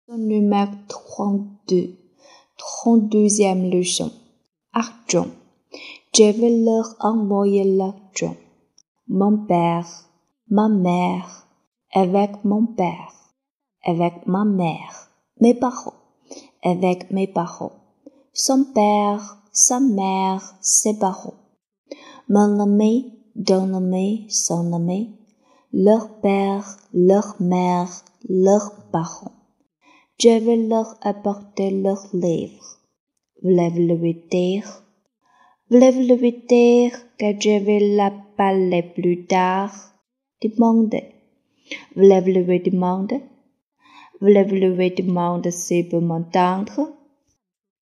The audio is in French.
Numéro 32. 32e leçon. Argent. Je vais leur envoyer l'argent. Mon père, ma mère, avec mon père, avec ma mère, mes parents, avec mes parents, son père, sa mère, ses parents, mon ami, ton ami, son ami, leur père, leur mère, leurs parents. Je vais leur apporter leurs livres. Voulez-vous lui dire? Voulez-vous lui dire que je vais la parler plus tard? Demandez. Voulez-vous lui demander? Voulez-vous lui demander s'il peut m'entendre?